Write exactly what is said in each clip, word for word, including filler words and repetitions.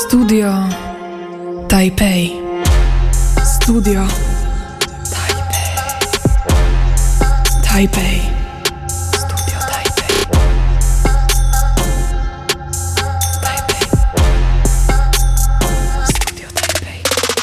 Studio Taipei. Studio Taipei. Taipei. Studio Taipei. Taipei. Studio Taipei.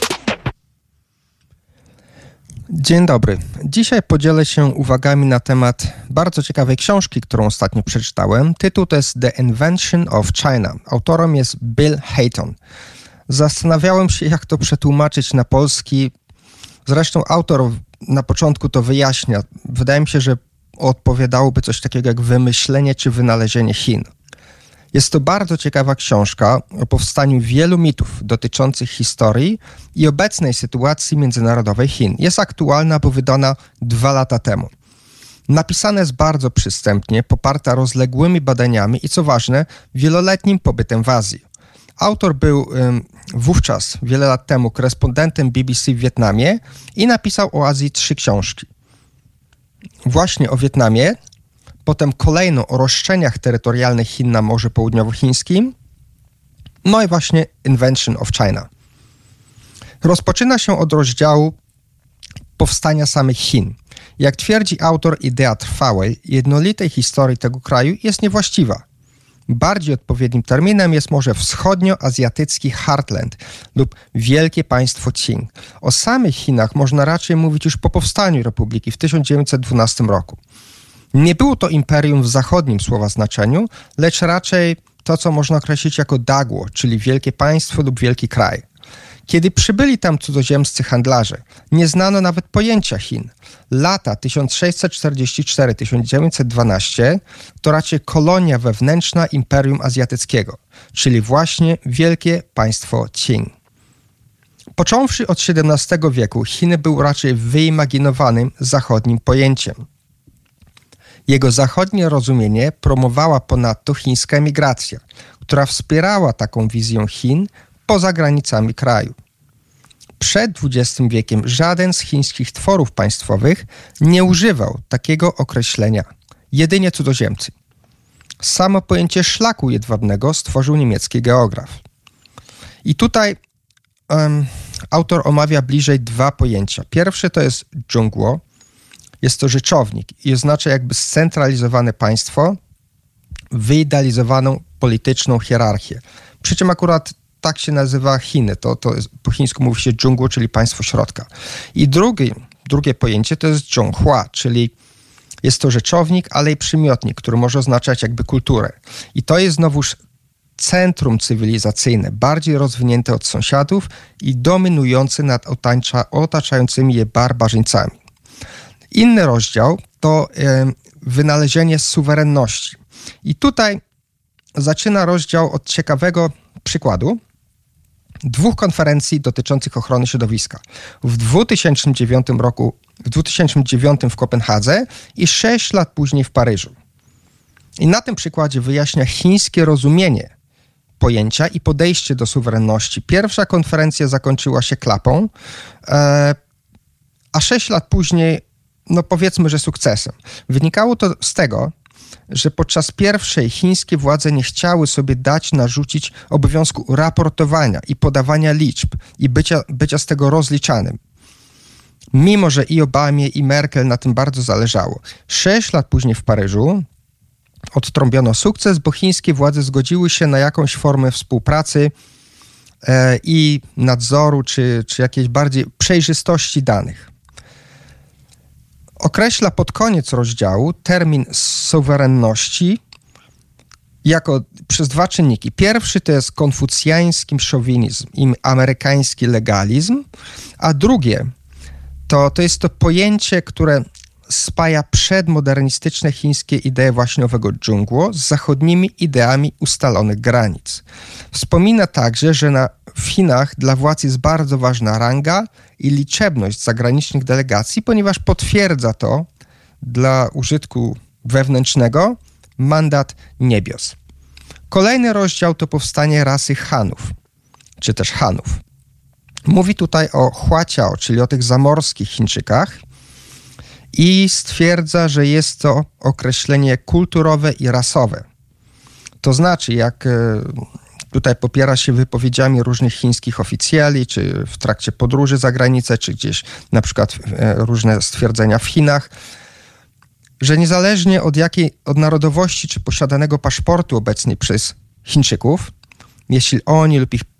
Dzień dobry. Dzisiaj podzielę się uwagami na temat bardzo ciekawej książki, którą ostatnio przeczytałem. Tytuł to jest The Invention of China. Autorem jest Bill Hayton. Zastanawiałem się, jak to przetłumaczyć na polski. Zresztą autor na początku to wyjaśnia. Wydaje mi się, że odpowiadałoby coś takiego jak wymyślenie czy wynalezienie Chin. Jest to bardzo ciekawa książka o powstaniu wielu mitów dotyczących historii i obecnej sytuacji międzynarodowej Chin. Jest aktualna, bo wydana dwa lata temu. Napisana jest bardzo przystępnie, poparta rozległymi badaniami i co ważne, wieloletnim pobytem w Azji. Autor był ym, wówczas, wiele lat temu, korespondentem B B C w Wietnamie i napisał o Azji trzy książki. Właśnie o Wietnamie, potem kolejną o roszczeniach terytorialnych Chin na Morzu Południowochińskim, no i właśnie Invention of China. Rozpoczyna się od rozdziału powstania samych Chin. Jak twierdzi autor, idea trwałej, jednolitej historii tego kraju jest niewłaściwa. Bardziej odpowiednim terminem jest może wschodnioazjatycki Heartland lub Wielkie Państwo Qing. O samych Chinach można raczej mówić już po powstaniu Republiki w tysiąc dziewięćset dwunastym roku. Nie było to imperium w zachodnim słowa znaczeniu, lecz raczej to, co można określić jako dagło, czyli wielkie państwo lub wielki kraj. Kiedy przybyli tam cudzoziemscy handlarze, nie znano nawet pojęcia Chin. Lata tysiąc sześćset czterdziesty czwarty do tysiąc dziewięćset dwunastego to raczej kolonia wewnętrzna Imperium Azjatyckiego, czyli właśnie Wielkie Państwo Qing. Począwszy od siedemnastego wieku, Chiny były raczej wyimaginowanym zachodnim pojęciem. Jego zachodnie rozumienie promowała ponadto chińska emigracja, która wspierała taką wizję Chin poza granicami kraju. Przed dwudziestym wiekiem żaden z chińskich tworów państwowych nie używał takiego określenia, jedynie cudzoziemcy. Samo pojęcie szlaku jedwabnego stworzył niemiecki geograf. I tutaj um, autor omawia bliżej dwa pojęcia. Pierwsze to jest Zhongguo. Jest to rzeczownik i oznacza jakby scentralizowane państwo, wyidealizowaną polityczną hierarchię. Przy czym akurat tak się nazywa Chiny. To, to jest, po chińsku mówi się Zhongguo, czyli państwo środka. I drugi, drugie pojęcie to jest Zhonghua, czyli jest to rzeczownik, ale i przymiotnik, który może oznaczać jakby kulturę. I to jest znowuż centrum cywilizacyjne, bardziej rozwinięte od sąsiadów i dominujące nad otacza, otaczającymi je barbarzyńcami. Inny rozdział to e, wynalezienie suwerenności. I tutaj zaczyna rozdział od ciekawego przykładu dwóch konferencji dotyczących ochrony środowiska. W dwa tysiące dziewiątym roku, w dwa tysiące dziewiątym w Kopenhadze i sześć lat później w Paryżu. I na tym przykładzie wyjaśnia chińskie rozumienie pojęcia i podejście do suwerenności. Pierwsza konferencja zakończyła się klapą, e, a sześć lat później no powiedzmy, że sukcesem. Wynikało to z tego, że podczas pierwszej chińskie władze nie chciały sobie dać narzucić obowiązku raportowania i podawania liczb i bycia, bycia z tego rozliczanym. Mimo że i Obamie, i Merkel na tym bardzo zależało. Sześć lat później w Paryżu odtrąbiono sukces, bo chińskie władze zgodziły się na jakąś formę współpracy e, i nadzoru, czy, czy jakiejś bardziej przejrzystości danych. Określa pod koniec rozdziału termin suwerenności jako przez dwa czynniki. Pierwszy to jest konfucjański szowinizm i amerykański legalizm, a drugie to, to jest to pojęcie, które spaja przedmodernistyczne chińskie idee właśnie owego Zhongguo z zachodnimi ideami ustalonych granic. Wspomina także, że na, w Chinach dla władz jest bardzo ważna ranga i liczebność zagranicznych delegacji, ponieważ potwierdza to dla użytku wewnętrznego mandat niebios. Kolejny rozdział to powstanie rasy Hanów, czy też Hanów. Mówi tutaj o Huaqiao, czyli o tych zamorskich Chińczykach, i stwierdza, że jest to określenie kulturowe i rasowe. To znaczy, jak tutaj popiera się wypowiedziami różnych chińskich oficjeli, czy w trakcie podróży za granicę, czy gdzieś na przykład różne stwierdzenia w Chinach, że niezależnie od jakiej, od narodowości, czy posiadanego paszportu obecnie przez Chińczyków, jeśli oni lub ich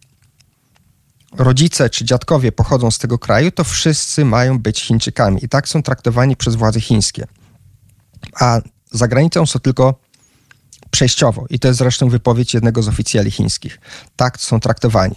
rodzice czy dziadkowie pochodzą z tego kraju, to wszyscy mają być Chińczykami i tak są traktowani przez władze chińskie. A za granicą są tylko przejściowo. I to jest zresztą wypowiedź jednego z oficjeli chińskich. Tak są traktowani.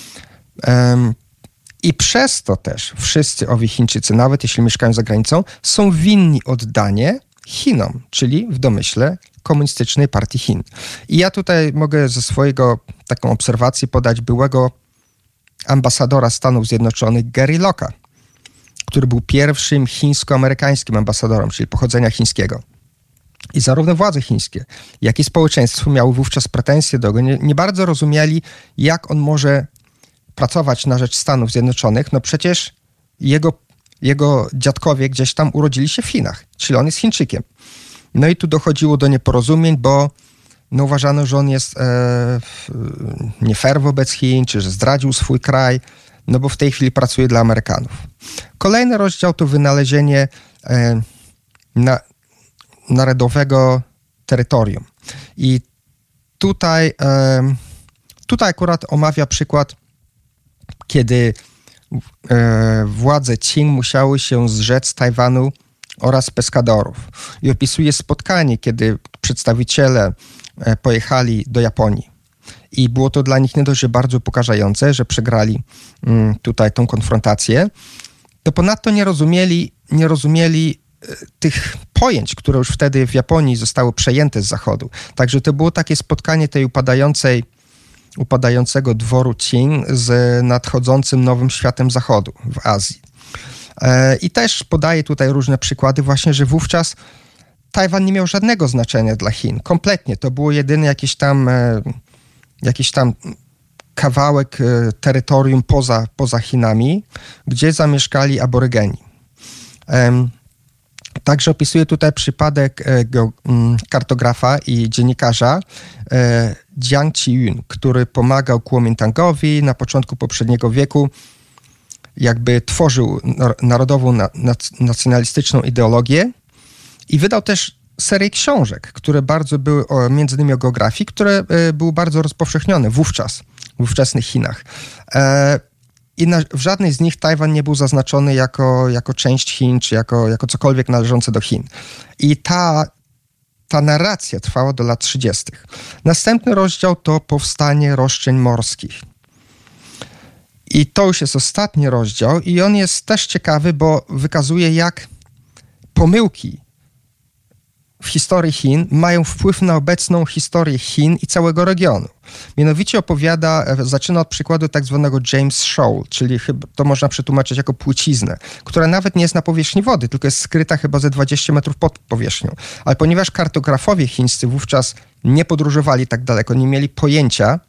Um, I przez to też wszyscy owi Chińczycy, nawet jeśli mieszkają za granicą, są winni oddanie Chinom, czyli w domyśle Komunistycznej Partii Chin. I ja tutaj mogę ze swojego taką obserwację podać byłego ambasadora Stanów Zjednoczonych Gary Locka, który był pierwszym chińsko-amerykańskim ambasadorem, czyli pochodzenia chińskiego. I zarówno władze chińskie, jak i społeczeństwo miały wówczas pretensje do go. Nie, nie bardzo rozumieli, jak on może pracować na rzecz Stanów Zjednoczonych. No przecież jego, jego dziadkowie gdzieś tam urodzili się w Chinach, czyli on jest Chińczykiem. No i tu dochodziło do nieporozumień, bo no uważano, że on jest e, nie fair wobec Chin, czy że zdradził swój kraj, no bo w tej chwili pracuje dla Amerykanów. Kolejny rozdział to wynalezienie e, na, narodowego terytorium. I tutaj, e, tutaj akurat omawia przykład, kiedy e, władze Qing musiały się zrzec Tajwanu oraz Peskadorów. I opisuje spotkanie, kiedy przedstawiciele e, pojechali do Japonii. I było to dla nich nie dość, że bardzo upokarzające, że przegrali mm, tutaj tą konfrontację, to ponadto nie rozumieli, nie rozumieli e, tych pojęć, które już wtedy w Japonii zostały przejęte z Zachodu. Także to było takie spotkanie tej upadającej, upadającego dworu Qing z nadchodzącym nowym światem Zachodu w Azji. E, I też podaję tutaj różne przykłady właśnie, że wówczas Tajwan nie miał żadnego znaczenia dla Chin. Kompletnie. To było jedyny jakiś tam, e, jakiś tam kawałek e, terytorium poza, poza Chinami, gdzie zamieszkali aborygeni. E, Także opisuję tutaj przypadek e, ge, m, kartografa i dziennikarza e, Jiang Qiyun, który pomagał Kuomintangowi na początku poprzedniego wieku, jakby tworzył narodową, na, nacjonalistyczną ideologię i wydał też serię książek, które bardzo były, o, między innymi o geografii, które e, były bardzo rozpowszechnione wówczas, w ówczesnych Chinach. E, I na, w żadnej z nich Tajwan nie był zaznaczony jako, jako część Chin, czy jako, jako cokolwiek należące do Chin. I ta, ta narracja trwała do lat trzydziestych. Następny rozdział to powstanie roszczeń morskich. I to już jest ostatni rozdział i on jest też ciekawy, bo wykazuje, jak pomyłki w historii Chin mają wpływ na obecną historię Chin i całego regionu. Mianowicie opowiada, zaczyna od przykładu tak zwanego James Shoal, czyli chyba to można przetłumaczyć jako płyciznę, która nawet nie jest na powierzchni wody, tylko jest skryta chyba ze dwadzieścia metrów pod powierzchnią. Ale ponieważ kartografowie chińscy wówczas nie podróżowali tak daleko, nie mieli pojęcia,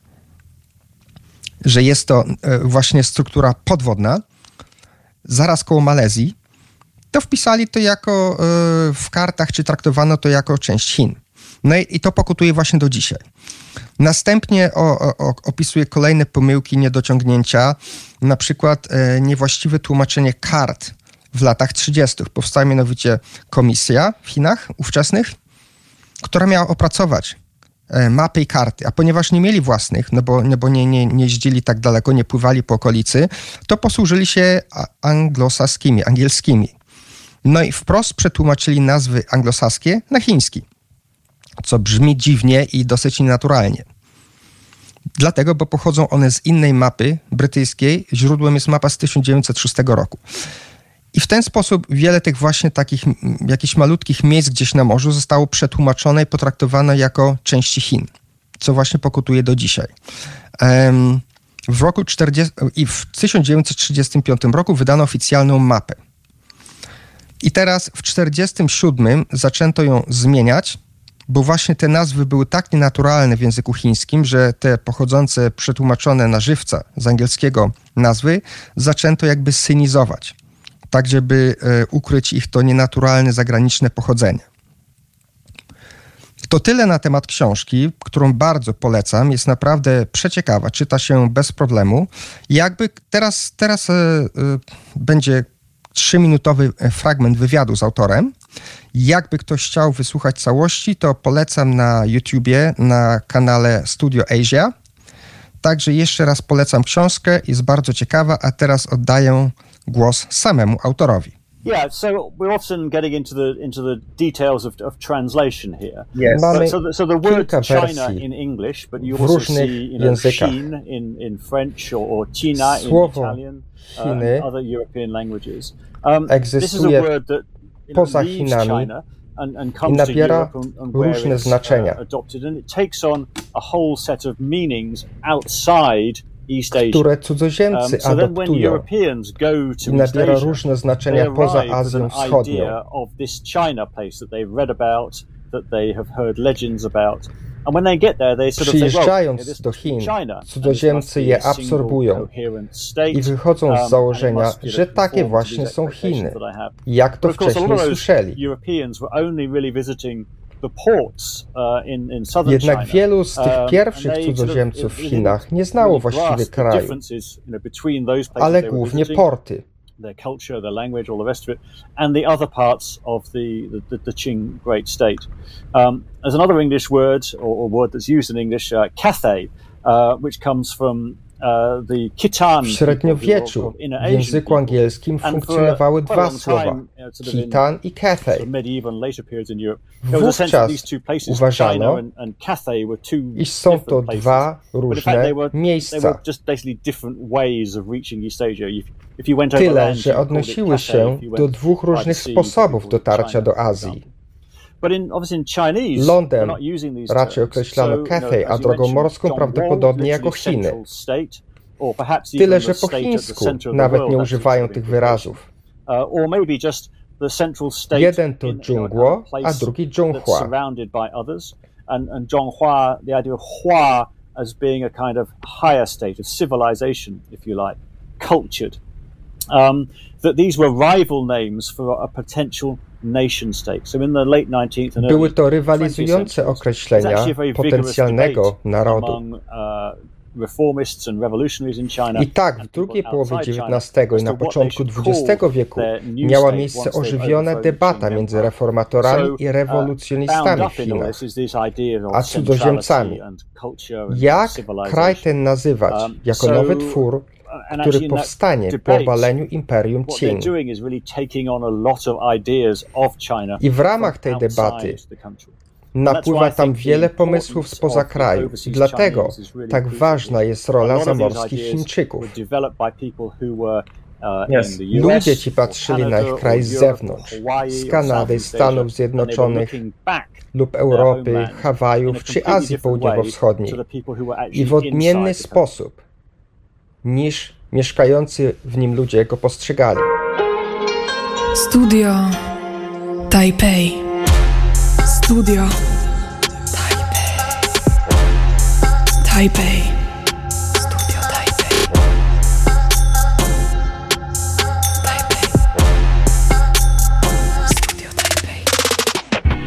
że jest to właśnie struktura podwodna, zaraz koło Malezji, to wpisali to jako y, w kartach, czy traktowano to jako część Chin. No i, i to pokutuje właśnie do dzisiaj. Następnie o, o, opisuje kolejne pomyłki, niedociągnięcia, na przykład y, niewłaściwe tłumaczenie kart w latach trzydziestych. Powstała mianowicie komisja w Chinach ówczesnych, która miała opracować y, mapy i karty, a ponieważ nie mieli własnych, no bo, no bo nie, nie, nie jeździli tak daleko, nie pływali po okolicy, to posłużyli się anglosaskimi, angielskimi. No i wprost przetłumaczyli nazwy anglosaskie na chiński, co brzmi dziwnie i dosyć nienaturalnie. Dlatego, bo pochodzą one z innej mapy brytyjskiej, źródłem jest mapa z tysiąc dziewięćset szóstego roku. I w ten sposób wiele tych właśnie takich jakichś malutkich miejsc gdzieś na morzu zostało przetłumaczone i potraktowane jako części Chin, co właśnie pokutuje do dzisiaj. Um, w roku czterdziestym i w tysiąc dziewięćset trzydziestym piątym roku wydano oficjalną mapę. I teraz w tysiąc dziewięćset czterdziestym siódmym zaczęto ją zmieniać, bo właśnie te nazwy były tak nienaturalne w języku chińskim, że te pochodzące, przetłumaczone na żywca z angielskiego nazwy zaczęto jakby synizować, tak żeby e, ukryć ich to nienaturalne, zagraniczne pochodzenie. To tyle na temat książki, którą bardzo polecam. Jest naprawdę przeciekawa, czyta się bez problemu. Jakby teraz, teraz e, e, będzie trzyminutowy fragment wywiadu z autorem. Jakby ktoś chciał wysłuchać całości, to polecam na YouTubie, na kanale Studio Asia. Także jeszcze raz polecam książkę, jest bardzo ciekawa, a teraz oddaję głos samemu autorowi. Yeah, so we're often getting into the into the details of, of translation here. Yes. Mamy so, the, so the word China in English, but you also see, you know, Xin in, in French or, or China Słowo in Italian, Chiny uh, other European languages. Um, egzystuje this is a word that, you know, poza Chinami China and, and i comes to nabiera Europe and, and where różne it's, znaczenia, uh, adopted, and it takes on a whole set of meanings outside East Asia. które cudzoziemcy um, so then when adoptują Europeans go to i nabiera East Asia, różne znaczenia poza Azją Wschodnią. Of this China place that they've read about, that they have heard legends about. And when they get there, they sort of say, well, Przyjeżdżając do Chin, cudzoziemcy je absorbują i wychodzą z założenia, że takie właśnie są Chiny, jak to wcześniej słyszeli. Jednak wielu z tych pierwszych cudzoziemców w Chinach nie znało właściwie kraju, ale głównie porty. Their culture, their language, all the rest of it, and the other parts of the, the, the Qing Great State. Um, there's another English word, or, or word that's used in English, uh, Cathay, uh, which comes from uh, the Khitan. W średniowieczu w języku angielskim funkcjonowały dwa słowa, Khitan i Cathay. Wówczas uważano, iż są to dwa różne miejsca. Tyle, że odnosiły się do dwóch różnych sposobów dotarcia do Azji. Lądem raczej określano Cathay, a drogą morską prawdopodobnie jako Chiny. Tyle, że po chińsku nawet nie używają tych wyrazów. Jeden to Zhongguo, a drugi Zhonghua. And Zhonghua, the idea of Hua as being a kind of higher state of civilization, if you like, cultured. Um, that these were rival names for a potential nation state. So in the late nineteenth and Były to rywalizujące określenia potencjalnego narodu. I tak w drugiej połowie dziewiętnastego i na początku dwudziestego wieku miała miejsce ożywiona debata między reformatorami i rewolucjonistami w Chinach, a cudzoziemcami. Jak kraj ten nazywać jako nowy twór, który powstanie po obaleniu Imperium Qing? I w ramach tej debaty napływa tam wiele pomysłów spoza kraju. Dlatego tak ważna jest rola zamorskich Chińczyków. Yes. Ludzie ci patrzyli na ich kraj z zewnątrz, z Kanady, Stanów Zjednoczonych lub Europy, Hawajów czy Azji Południowo-Wschodniej i w odmienny sposób niż mieszkający w nim ludzie go postrzegali. Studio Taipei. Studio Taipei. Taipei.